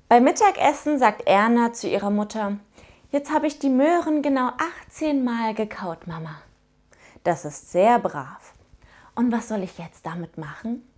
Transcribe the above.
Beim Mittagessen sagt Erna zu ihrer Mutter: Jetzt habe ich die Möhren genau 18 Mal gekaut, Mama. Das ist sehr brav. Und was soll ich jetzt damit machen?